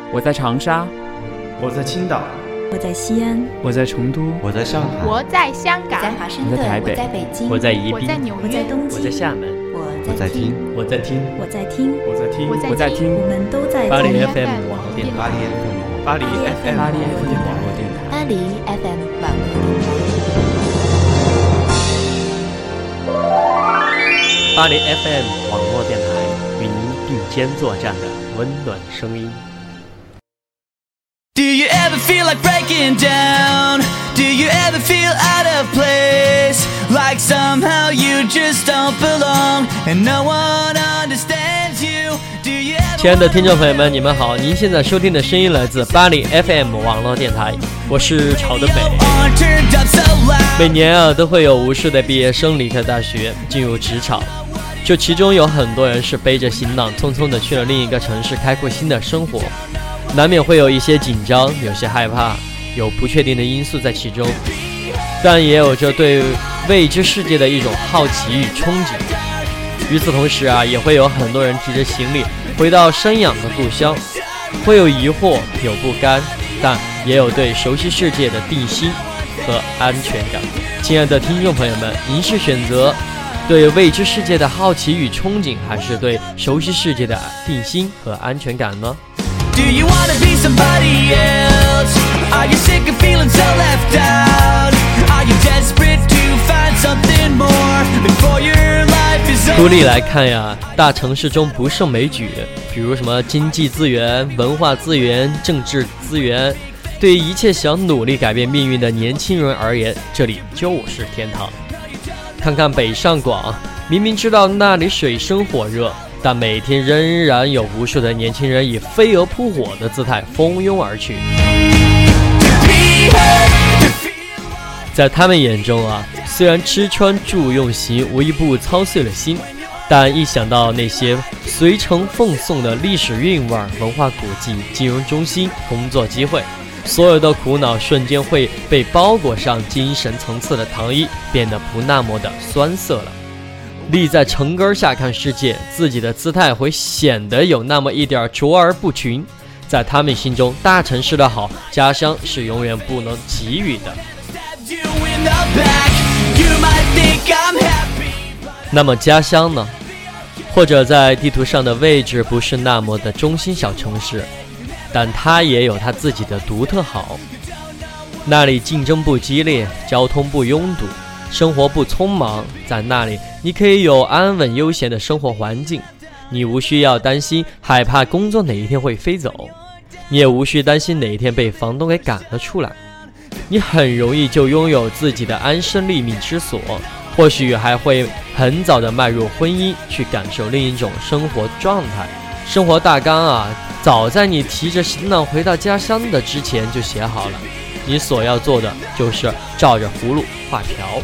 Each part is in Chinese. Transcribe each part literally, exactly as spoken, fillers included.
我在长沙， 我在青岛， 我在西安， 我在成都， 我在上海， 我在香港， 我在华盛顿， 我在台北， 我在北京， 我在宜宾， 我在纽约， 我在东京， 我在厦门， 我在听， 我在听， 我在听， 我在听， 我在听， 我们都在巴黎听 F M 网络电台， 巴黎 F M， 巴黎 F M 巴黎 F M 网络电台， 巴黎 F M 网络电台， 巴黎 F M 网络电台与您并肩作战的温暖声音。 Do you ever feel like breaking down? Do you ever feel out of place? Like somehow you just don't belong and no one understands you. Do you ever... 亲爱的听众朋友们，你们好，您现在收听的声音来自巴黎 F M 网络电台，我是朝德北。每年啊，都会有无数的毕业生离开大学，进入职场。这其中有很多人是背着行囊，匆匆的去了另一个城市，开阔新的生活。难免会有一些紧张，有些害怕，有不确定的因素在其中，但也有着对未知世界的一种好奇与憧憬。与此同时啊，也会有很多人提着行李回到生养的故乡，会有疑惑，有不甘，但也有对熟悉世界的定心和安全感。亲爱的听众朋友们，您是选择对未知世界的好奇与憧憬，还是对熟悉世界的定心和安全感呢 Do you wanna be somebody else? Are you sick of feeling so left out? Are you desperate to find something more before your life is over? 独立来看呀，大城市中不胜枚举，比如什么经济资源、文化资源、政治资源，对于一切想努力改变命运的年轻人而言，这里就是天堂。看看北上广，明明知道那里水深火热，但每天仍然有无数的年轻人以飞蛾扑火的姿态蜂拥而去。在他们眼中啊，虽然吃穿住用行无一不操碎了心，但一想到那些随城奉送的历史韵味、文化古迹、金融中心、工作机会，所有的苦恼瞬间会被包裹上精神层次的糖衣，变得不那么的酸涩了。立在城根下看世界，自己的姿态会显得有那么一点卓而不群。在他们心中，大城市的好，家乡是永远不能给予的。那么家乡呢？或者在地图上的位置不是那么的中心小城市，但它也有它自己的独特好。那里竞争不激烈，交通不拥堵，生活不匆忙，在那里你可以有安稳悠闲的生活环境，你无需要担心害怕工作哪一天会飞走，你也无需担心哪一天被房东给赶了出来，你很容易就拥有自己的安身立命之所，或许还会很早的迈入婚姻，去感受另一种生活状态。生活大纲啊，早在你提着行囊回到家乡的之前就写好了，你所要做的就是照着葫芦画瓢。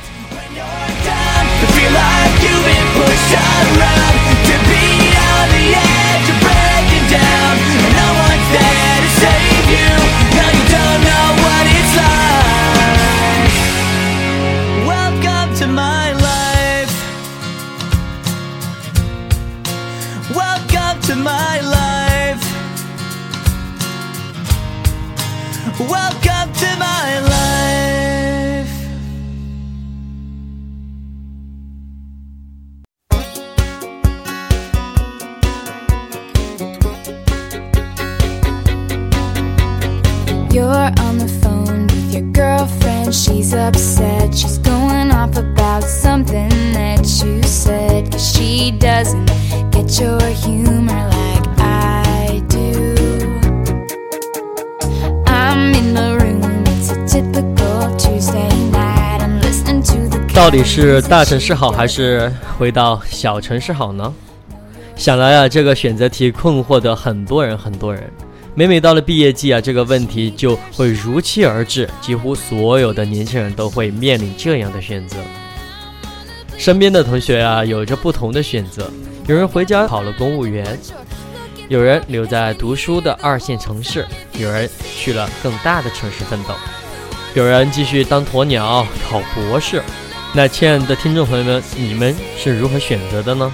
Welcome to my life. You're on the phone with your girlfriend. She's upset. She's going off about something that you said. 'Cause she doesn't get your humor like I do. I'm in the room. It's a typical Tuesday night. I'm listening to the. 到底是大城市好还是回到小城市好呢？想来啊，这个选择题困惑的很多人很多人。每每到了毕业季啊，这个问题就会如期而至，几乎所有的年轻人都会面临这样的选择。身边的同学啊，有着不同的选择，有人回家考了公务员，有人留在读书的二线城市，有人去了更大的城市奋斗，有人继续当鸵鸟考博士。那亲爱的听众朋友们，你们是如何选择的呢？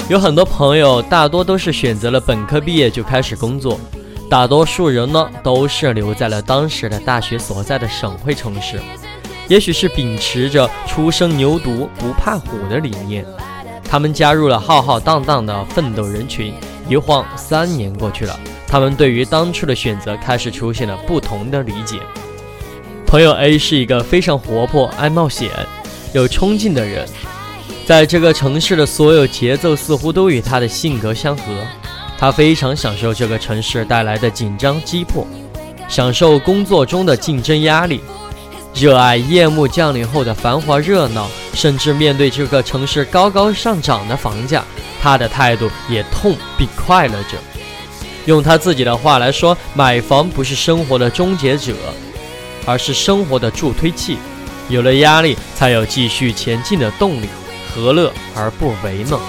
有很多朋友大多都是选择了本科毕业就开始工作，大多数人呢都是留在了当时的大学所在的省会城市，也许是秉持着初生牛犊不怕虎的理念，他们加入了浩浩荡荡的奋斗人群。一晃三年过去了，他们对于当初的选择开始出现了不同的理解。朋友 A 是一个非常活泼、爱冒险、有冲劲的人，在这个城市的所有节奏似乎都与他的性格相合。他非常享受这个城市带来的紧张击破，享受工作中的竞争压力，热爱夜幕降临后的繁华热闹，甚至面对这个城市高高上涨的房价，他的态度也痛并快乐着。用他自己的话来说，买房不是生活的终结者，而是生活的助推器。有了压力，才有继续前进的动力，何乐而不为呢？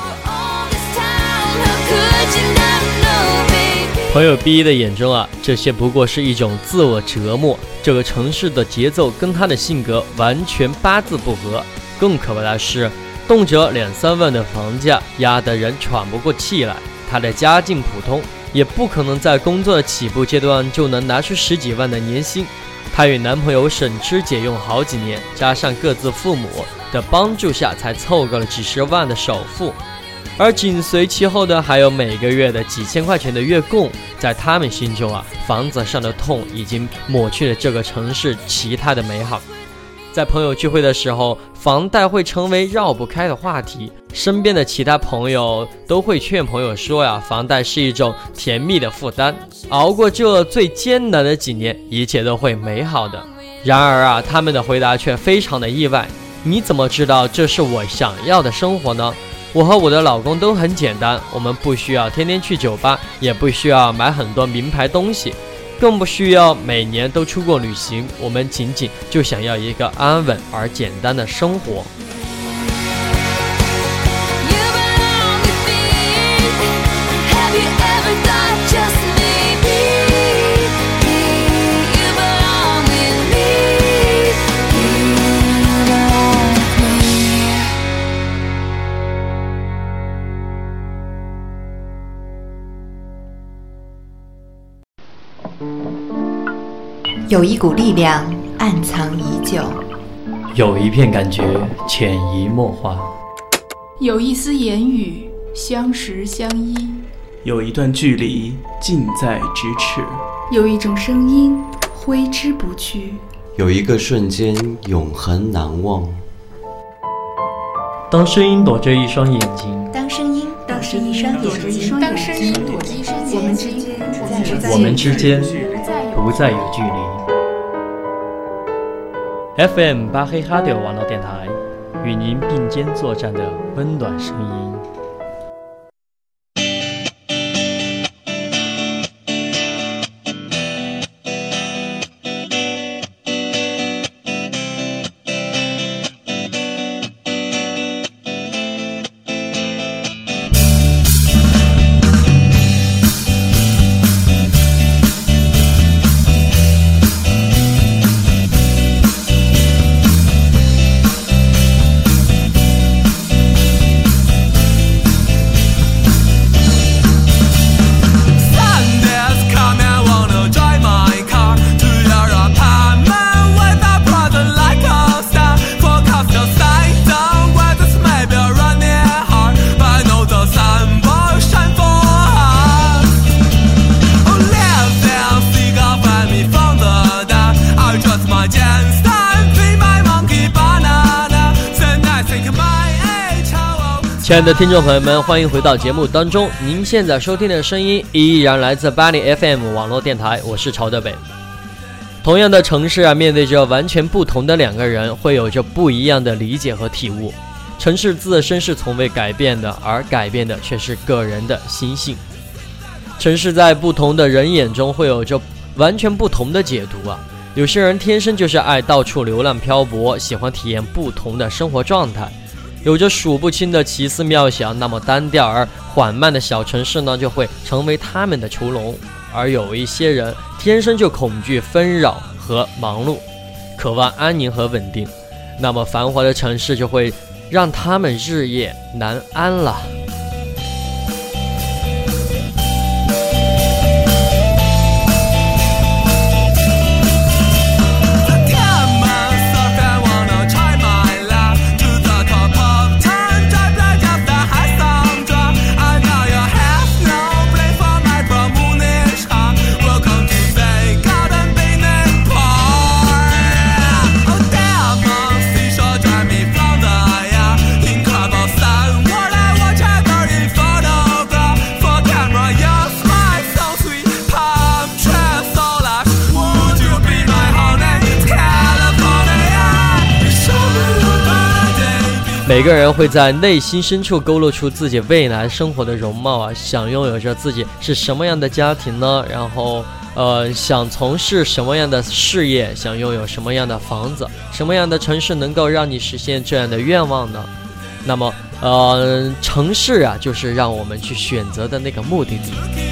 朋友 B 的眼中啊，这些不过是一种自我折磨。这个城市的节奏跟他的性格完全八字不合。更可怕的是，动辄两三万的房价压得人喘不过气来。他的家境普通，也不可能在工作的起步阶段就能拿出十几万的年薪。她与男朋友省吃俭用好几年，加上各自父母的帮助下，才凑够了几十万的首付。而紧随其后的还有每个月的几千块钱的月供。在他们心中啊，房子上的痛已经抹去了这个城市其他的美好。在朋友聚会的时候，房贷会成为绕不开的话题。身边的其他朋友都会劝朋友说呀，房贷是一种甜蜜的负担，熬过这最艰难的几年，一切都会美好的。然而啊，他们的回答却非常的意外。你怎么知道这是我想要的生活呢？我和我的老公都很简单，我们不需要天天去酒吧，也不需要买很多名牌东西，更不需要每年都出国旅行，我们仅仅就想要一个安稳而简单的生活。 有一股力量暗藏已久， 有一片感觉潜移默化， 有一丝言语相识相依， 有一段距离近在咫尺， 有一种声音挥之不去， 有一个瞬间永恒难忘。 当声音躲着一双眼睛， 当声音躲着一双眼睛， 当声音躲着一双眼睛，我们之间我们之间不再有距离。F M 巴黑哈迪网络电台，与您并肩作战的温暖声音。亲爱的听众朋友们，欢迎回到节目当中。您现在收听的声音依然来自巴黎 F M 网络电台，我是曹德北。同样的城市啊，面对着完全不同的两个人，会有着不一样的理解和体悟。城市自身是从未改变的，而改变的却是个人的心性。城市在不同的人眼中会有着完全不同的解读啊。有些人天生就是爱到处流浪漂泊，喜欢体验不同的生活状态，有着数不清的奇思妙想，那么单调而缓慢的小城市呢，就会成为他们的囚笼。而有一些人天生就恐惧纷扰和忙碌，渴望安宁和稳定，那么繁华的城市就会让他们日夜难安了。 每个人会在内心深处勾勒出自己未来生活的容貌啊，想拥有着自己是什么样的家庭呢？然后呃，想从事什么样的事业，想拥有什么样的房子，什么样的城市能够让你实现这样的愿望呢？那么呃，城市啊，就是让我们去选择的那个目的地。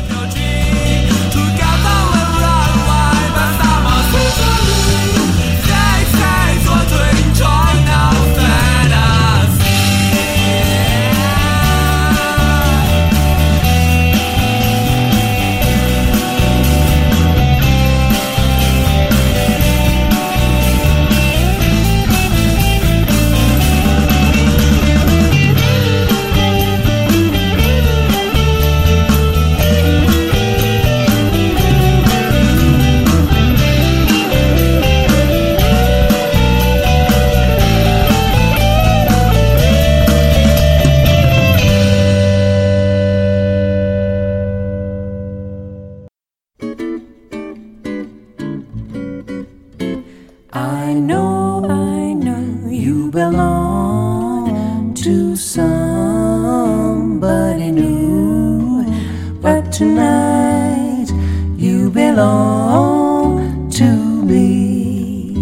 I know, I know you belong to somebody new, but tonight you belong to me.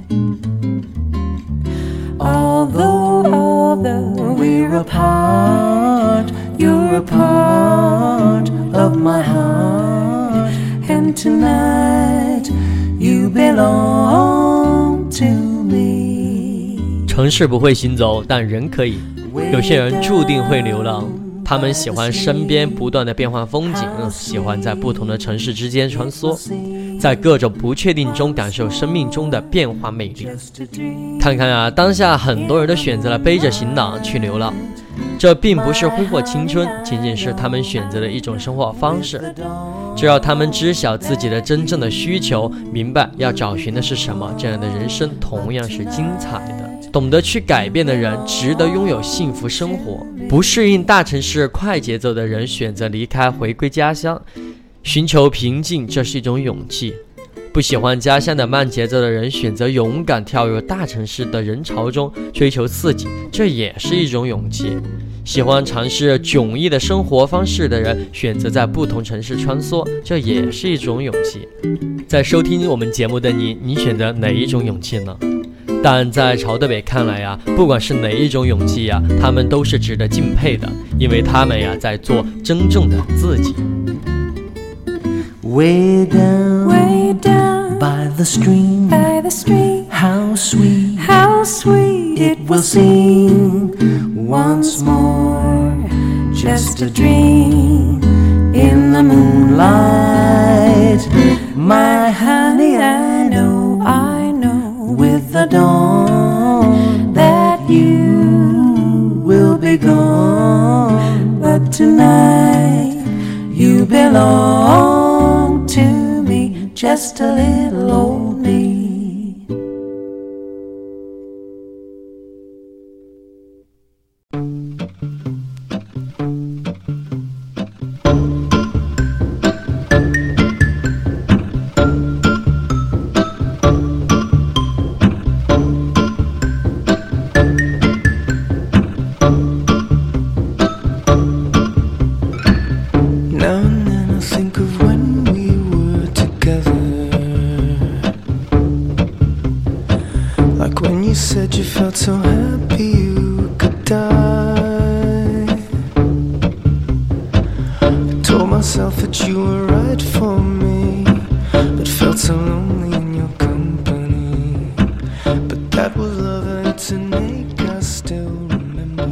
Although, although we're apart, you're a part of my heart, and tonight you belong to me. 城市不会行走，但人可以。有些人注定会流浪，他们喜欢身边不断的变换风景，喜欢在不同的城市之间穿梭，在各种不确定中感受生命中的变化魅力。看看啊，当下很多人都选择了背着行囊去流浪，这并不是挥霍青春，仅仅是他们选择的一种生活方式。只要他们知晓自己的真正的需求，明白要找寻的是什么，这样的人生同样是精彩的。懂得去改变的人，值得拥有幸福生活。不适应大城市快节奏的人，选择离开，回归家乡，寻求平静，这是一种勇气。不喜欢家乡的慢节奏的人，选择勇敢跳入大城市的人潮中，追求刺激，这也是一种勇气。喜欢尝试迥异的生活方式的人，选择在不同城市穿梭，这也是一种勇气。在收听我们节目的你，你选择哪一种勇气呢？但在曹德北看来呀，不管是哪一种勇气呀，他们都是值得敬佩的，因为他们呀在做真正的自己。 Way down, way down by the stream, by the stream. How sweet, how sweet it will seem once more. Just a dream in the moonlight. My honey, I know, I know, with the dawn that you will be gone. But tonight you belong to me, just a little old me. Said you felt so happy you could die. I told myself that you were right for me, but felt so lonely in your company. But that was love and it's an ache I still remember.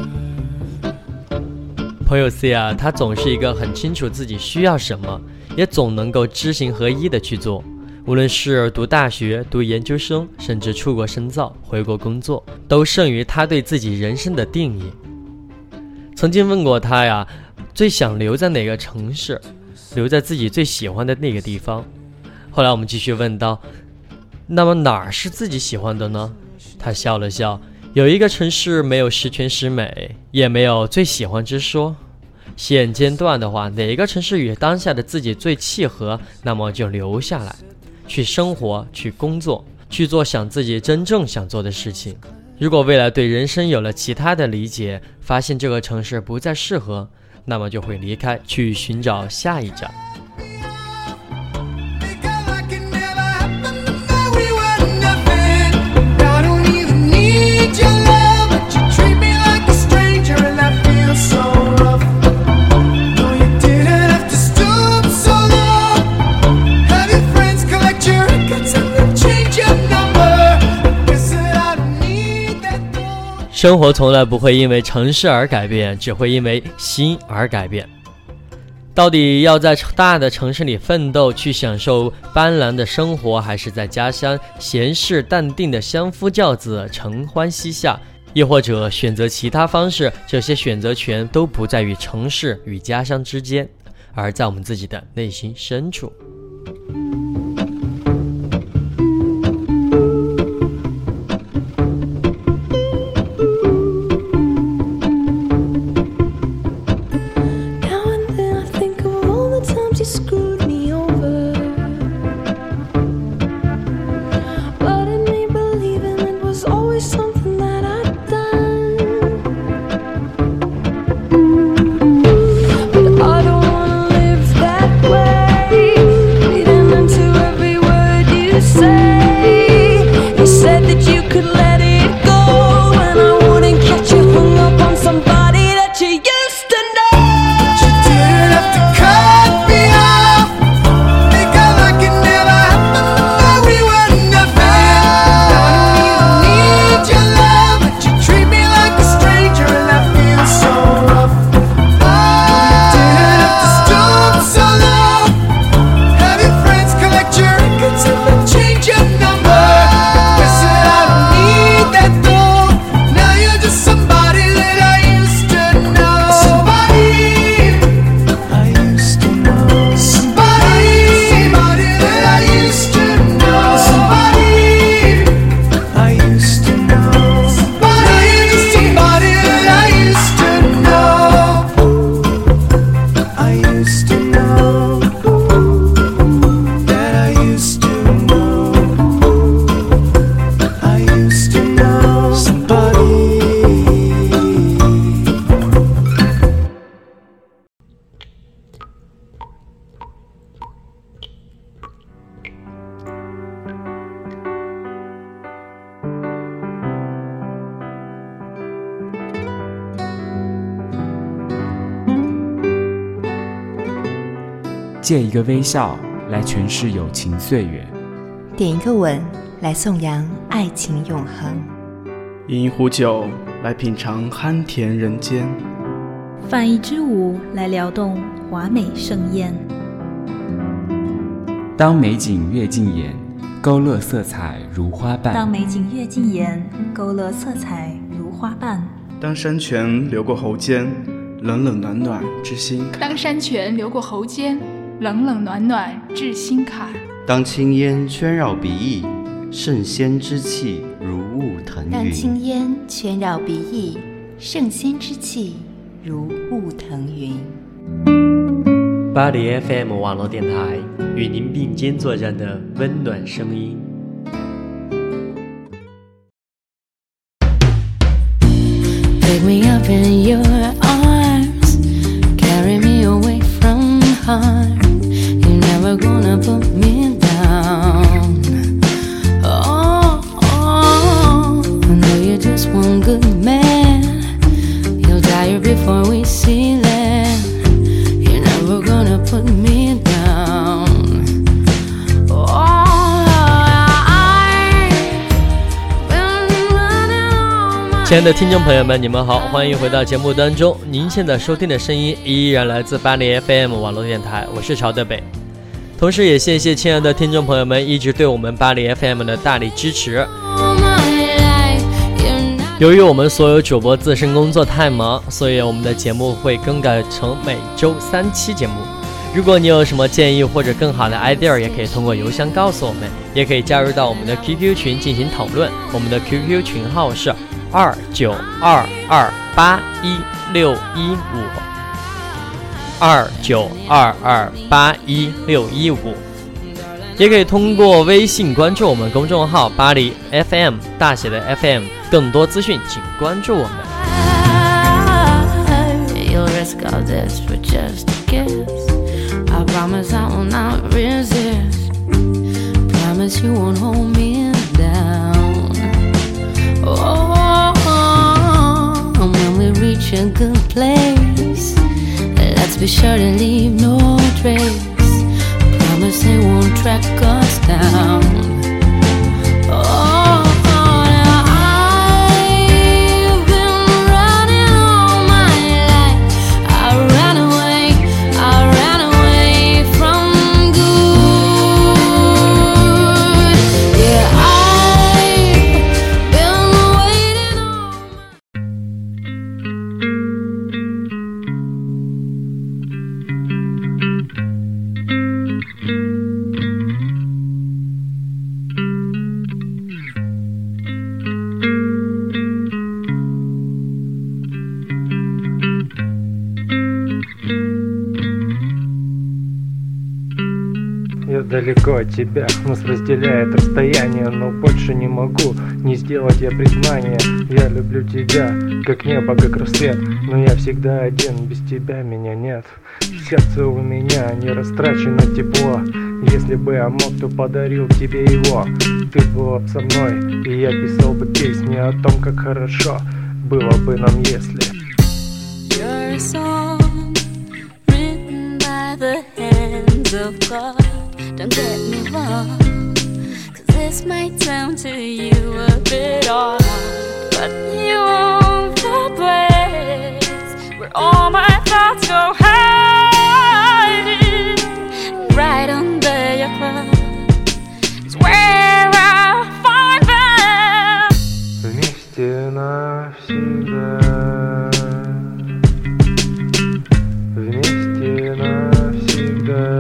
朋友 C 啊，他总是一个很清楚自己需要什么，也总能够知行合一的去做。无论是读大学、读研究生，甚至出国深造、回国工作，都胜于他对自己人生的定义。曾经问过他呀，最想留在哪个城市，留在自己最喜欢的那个地方。后来我们继续问到，那么哪儿是自己喜欢的呢？他笑了笑，有一个城市没有十全十美，也没有最喜欢之说。现阶段的话，哪一个城市与当下的自己最契合，那么就留下来，去生活，去工作，去做想自己真正想做的事情。 如果未来对人生有了其他的理解，发现这个城市不再适合，那么就会离开，去寻找下一站。生活从来不会因为城市而改变，只会因为心而改变。到底要在大的城市里奋斗，去享受斑斓的生活，还是在家乡闲适淡定的相夫教子，承欢膝下，又或者选择其他方式，这些选择权都不在于城市与家乡之间，而在我们自己的内心深处。 借一个微笑来诠释友情岁月， 点一个吻来颂扬爱情永恒， 饮一壶酒来品尝酣甜人间， 泛一支舞来撩动华美盛宴。 当美景越近眼，勾勒色彩如花瓣； 当美景越近眼，勾勒色彩如花瓣； 当山泉流过喉间，冷冷暖暖至心坎； 当山泉流过喉间，冷冷暖暖至心坎； 当青烟圈绕鼻翼，圣仙之气如雾腾云； 当青烟圈绕鼻翼，圣仙之气如雾腾云。 巴黎 F M 网络电台，与您并肩作战的温暖声音。 Pick me up in your arms, carry me away from harm. You're never gonna put me down. Oh, oh, I know you're just one good man. You'll die before we see land. You're never gonna put me down. Oh, I've been running all my 亲爱的听众朋友们，你们好，欢迎回到节目当中。您现在收听的声音依然来自巴黎 F M 网络电台，我是曹德北。同时也谢谢亲爱的听众朋友们一直对我们巴黎 F M 的大力支持。由于我们所有主播自身工作太忙，所以我们的节目会更改成每周三期节目。如果你有什么建议或者更好的 idea， 也可以通过邮箱告诉我们，也可以加入到我们的 Q Q 群进行讨论。我们的 Q Q 群号是二九二二八一六一五，二九二二八一六一五。 也可以通过微信关注我们公众号巴黎 F M 大写的 F M， 更多资讯请关注我们。 You'll risk all this for just a kiss. I promise I will not resist. Promise you won't hold me down. Oh, and when we reach a good place, let's be sure to leave no trace. Promise they won't track us down. Oh, now I've been running all my life. I ran away, I ran away from good. Yeah, I've been waiting on. Я далеко от тебя, нас разделяет расстояние, но больше не могу не сделать я признание. Я люблю тебя, как небо, как рассвет, но я всегда один, без тебя меня нет. Сердце у меня не растрачено тепло, если бы я мог, то подарил тебе его. Ты была б со мной, и я писал бы песни о том, как хорошо было бы нам, если. You're a song written by the hands of God. Don't get me wrong, cause this might sound to you a bit odd, but you own the place where all my thoughts go hiding. Right under your cloud is where I find them. Вместе навсегда, вместе навсегда.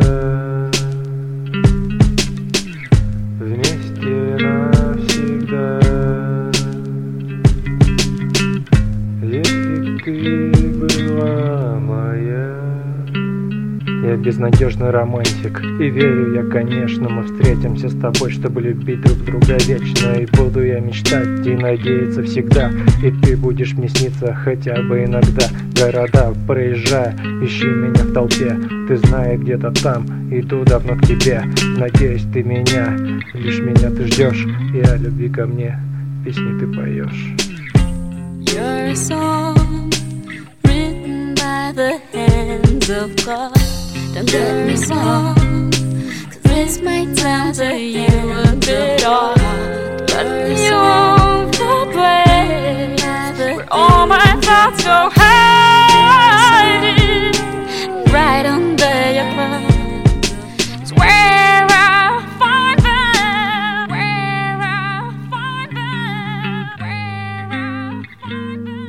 Я безнадежный романтик, и верю я, конечно, мы встретимся с тобой, чтобы любить друг друга вечно. И буду я мечтать и надеяться всегда, и ты будешь мне сниться хотя бы иногда. Города проезжая, ищи меня в толпе, ты знаешь, где-то там, иду давно к тебе. Надеюсь, ты меня, лишь меня ты ждешь, и о любви ко мне песни ты поешь. You're a song written by the hands of God. Don't get me wrong, cause this might sound to you a bit odd, but you own the place where all my thoughts go hiding. Right under your cloud is where I find them, where I find them, where I find them.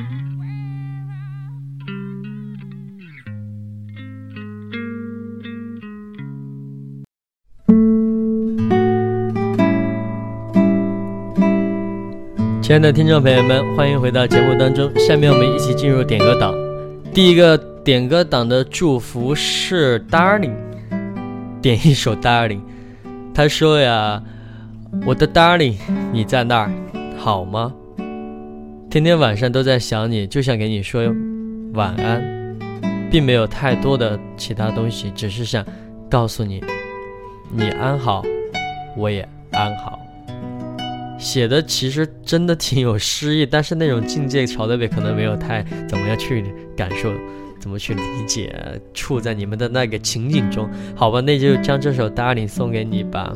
亲爱的听众朋友们，欢迎回到节目当中。下面我们一起进入点歌档。第一个点歌档的祝福是 Darling， 点一首 Darling。他说呀，我的 Darling， 你在那儿好吗？天天晚上都在想你，就想给你说晚安，并没有太多的其他东西，只是想告诉你，你安好，我也安好。写的其实真的挺有诗意，但是那种境界曹德北可能没有太怎么样去感受，怎么去理解，处在你们的那个情景中。好吧，那就将这首 Darling 送给你吧。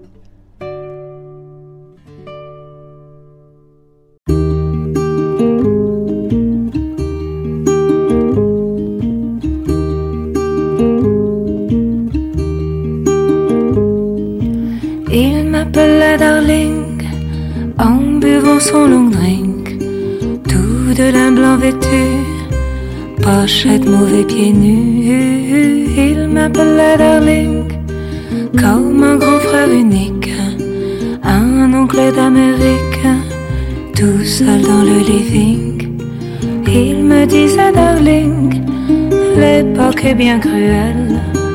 Il m'appela Darling en buvant son long drink, tout de lin blanc vêtu, pochette mauvais pieds nus. Il m'appelait Darling comme un grand frère unique, un oncle d'Amérique, tout seul dans le living. Il me disait Darling, l'époque est bien cruelle,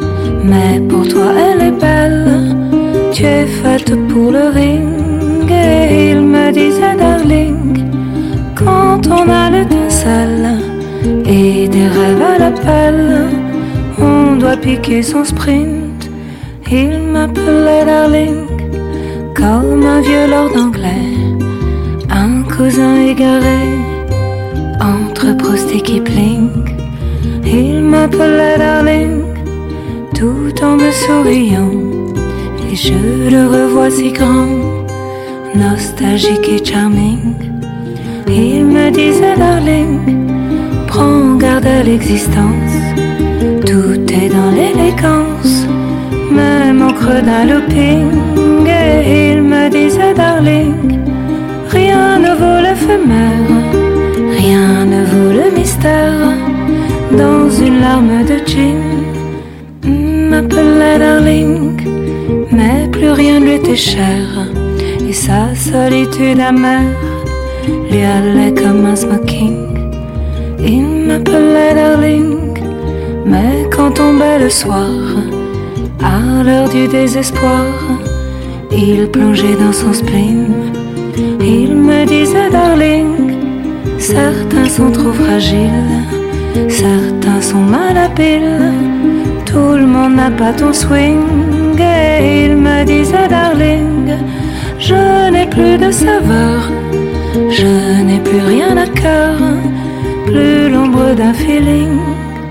Mais pour toi elle est belle, tu es faite pour le ring. Et il me disait darling, quand on a l'étincelle et des rêves à l'appel, on doit piquer son sprint. Il m'appelait darling, comme un vieux lord anglais, un cousin égaré entre Proust et Kipling. Il m'appelait darling, tout en me souriant, et je le revois si grand, nostalgique et charming. Il me disait darling, prends garde à l'existence, tout est dans l'élégance, même au creux d'un looping. Et il me disait darling, rien ne vaut l'éphémère, rien ne vaut le mystère, dans une larme de gin. M'appelait darling, mais plus rien ne lui était cher, et sa solitude amère lui allait comme un smoking. Il m'appelait darling, mais quand tombait le soir, à l'heure du désespoir, il plongeait dans son spleen. Il me disait darling, certains sont trop fragiles, certains sont malhabiles, tout le monde n'a pas ton swing. Et il me disait darling, je n'ai plus de saveur, je n'ai plus rien à cœur, plus l'ombre d'un feeling.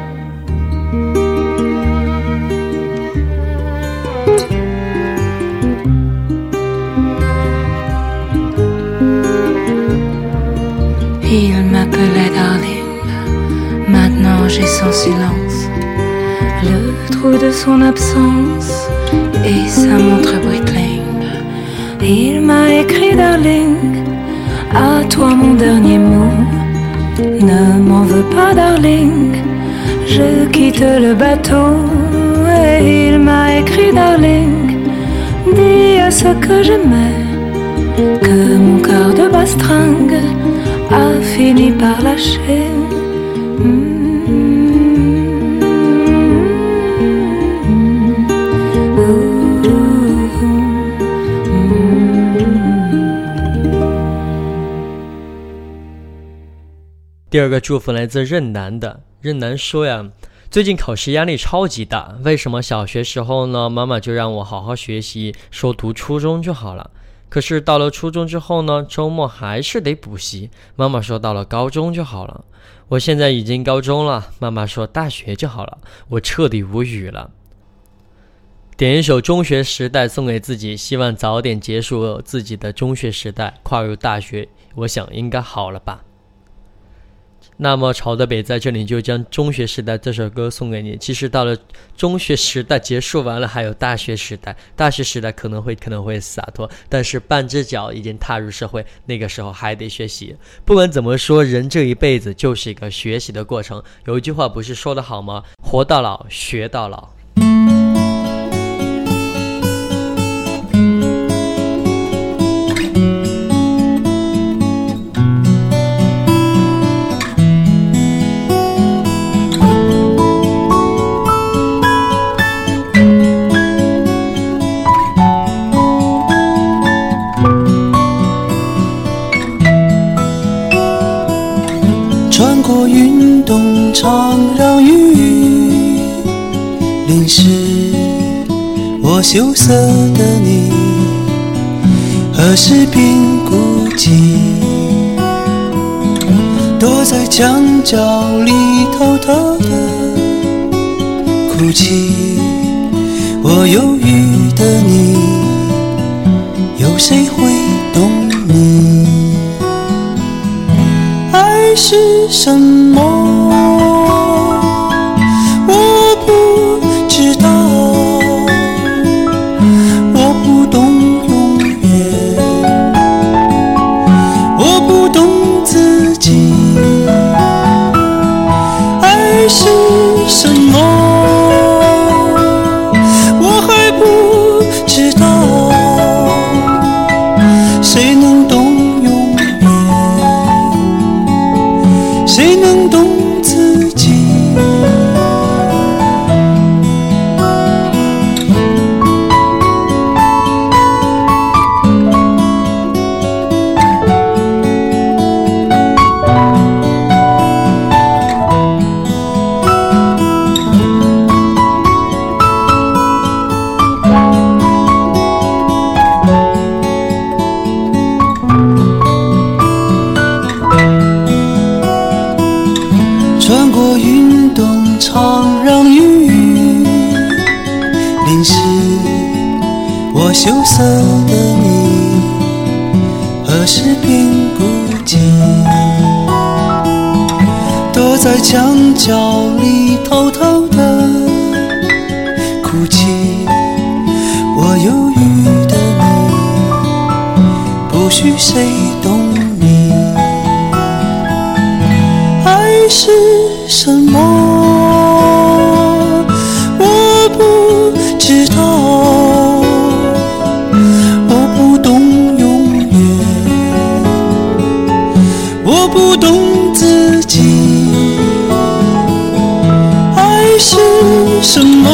Il m'appelait darling, maintenant j'ai son silence, le trou de son absence et sa montre Breitling. Il m'a écrit darling, à toi mon dernier mot, ne m'en veux pas darling, je quitte le bateau. Et il m'a écrit darling, dis à ceux que j'aimais que mon cœur de bastringue a fini par lâcher. Mmh. 第二个祝福来自任南的，任南说呀，最近考试压力超级大，为什么小学时候呢，妈妈就让我好好学习，说读初中就好了，可是到了初中之后呢，周末还是得补习，妈妈说到了高中就好了，我现在已经高中了，妈妈说大学就好了，我彻底无语了。点一首中学时代送给自己，希望早点结束自己的中学时代，跨入大学，我想应该好了吧。那么朝的北在这里就将中学时代这首歌送给你。其实到了中学时代结束完了，还有大学时代，大学时代可能会可能会洒脱，但是半只脚已经踏入社会，那个时候还得学习。不管怎么说，人这一辈子就是一个学习的过程。有一句话不是说得好吗？活到老，学到老。 穿过云动常让雨淋湿我羞涩的你，何时便孤寂，躲在墙角里偷偷的哭泣。我忧郁的你，有谁会懂你？爱是什么？我不知道，我不懂永远，我不懂自己。爱是什么？我还不知道，谁能懂永远？谁能懂羞涩的你何时并不及，躲在墙角里偷偷的哭泣。我忧郁的你不许谁懂你，爱是什么我不知道，我不懂永远，我不懂自己。爱是什么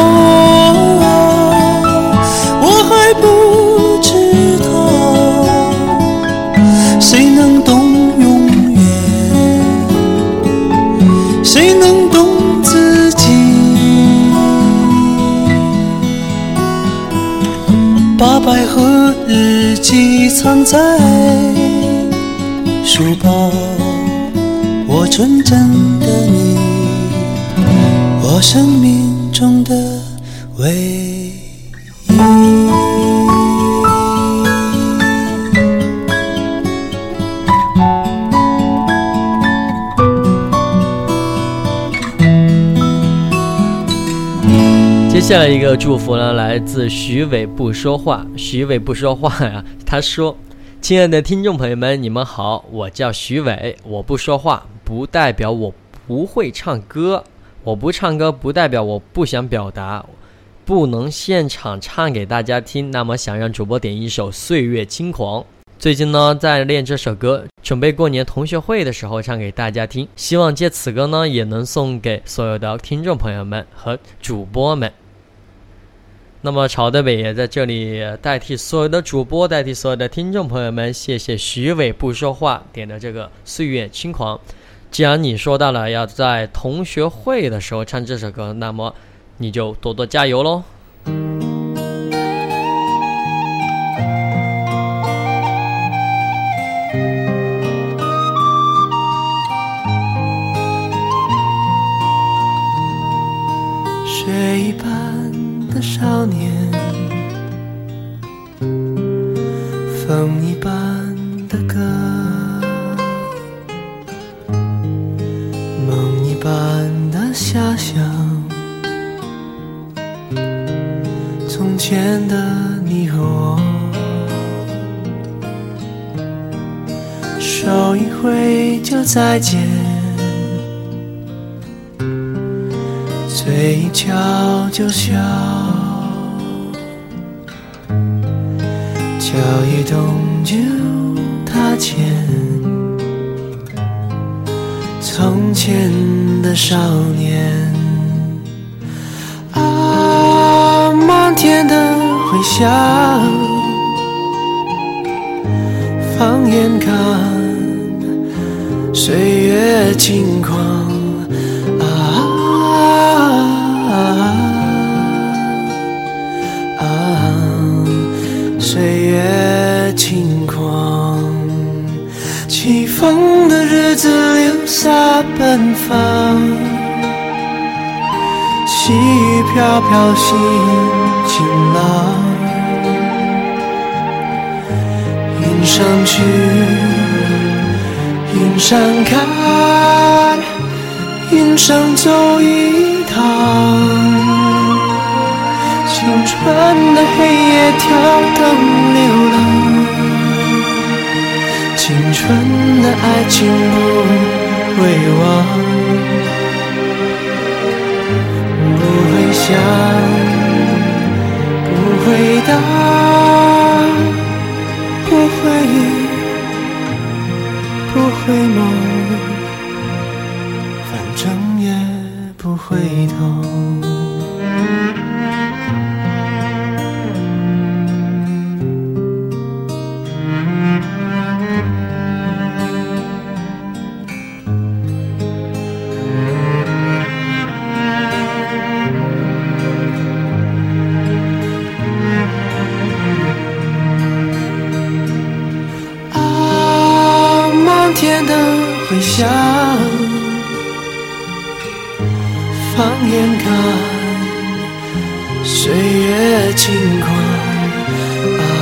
我还不知道，谁能懂永远，谁能懂自己。把百合日记藏在书包，我纯真的你，我生命中的唯一。 接下来一个祝福呢，来自徐伟不说话。徐伟不说话呀，他说：亲爱的听众朋友们，你们好，我叫徐伟，我不说话不代表我不会唱歌，我不唱歌不代表我不想表达，不能现场唱给大家听，那么想让主播点一首《岁月轻狂》。最近呢在练这首歌，准备过年同学会的时候唱给大家听，希望借此歌呢也能送给所有的听众朋友们和主播们。那么曹德伟也在这里代替所有的主播，代替所有的听众朋友们，谢谢徐伟不说话点的这个《岁月轻狂》。既然你说到了要在同学会的时候唱这首歌，那么你就多多加油咯。 雪一般的少年，风一般的歌，梦一般的遐想，从前的你和我，手一挥就再见，嘴一翘就笑，脚一动就踏前，从前的少年啊，漫天的回响，放眼看岁月轻狂啊啊啊，岁月轻狂，起风的日子留下奔放，细雨飘飘心晴朗，云上去云上看，云上走一趟，青春的黑夜跳灯流浪，青春的爱情不会忘，不会想，不会答，不会不会梦，反正也不回头。天的回响，放眼看岁月轻狂啊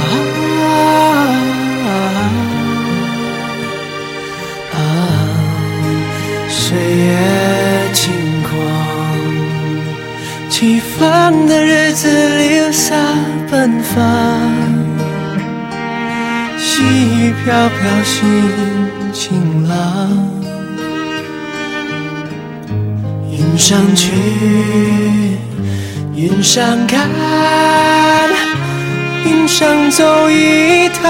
会飘飘心情浪。云上去，云上看，云上走一趟。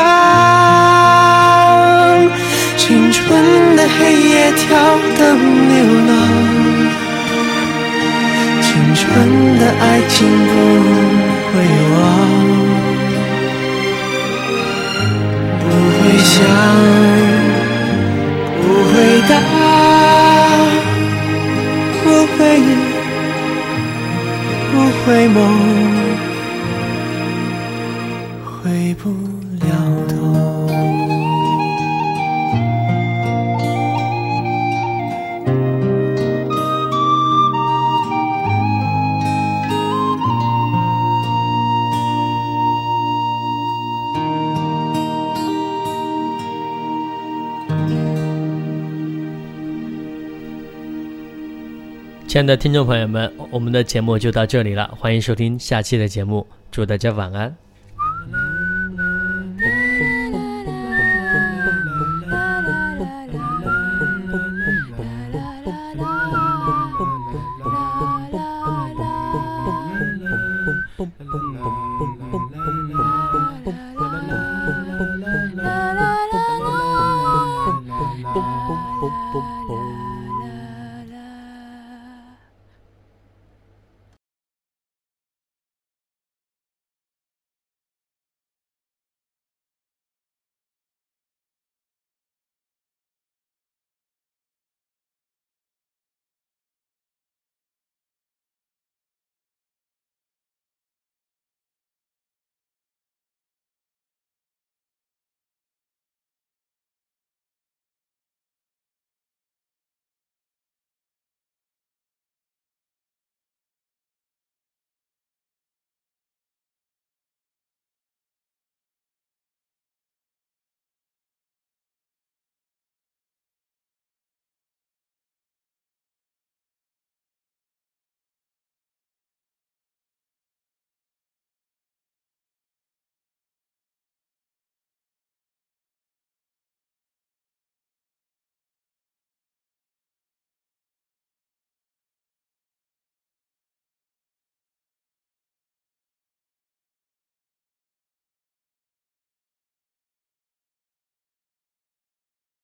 青春的黑夜跳灯流浪，青春的爱情不会忘，不会想，不会答，不会忆，不会梦，回不了头。 亲爱的听众朋友们，我们的节目就到这里了，欢迎收听下期的节目，祝大家晚安。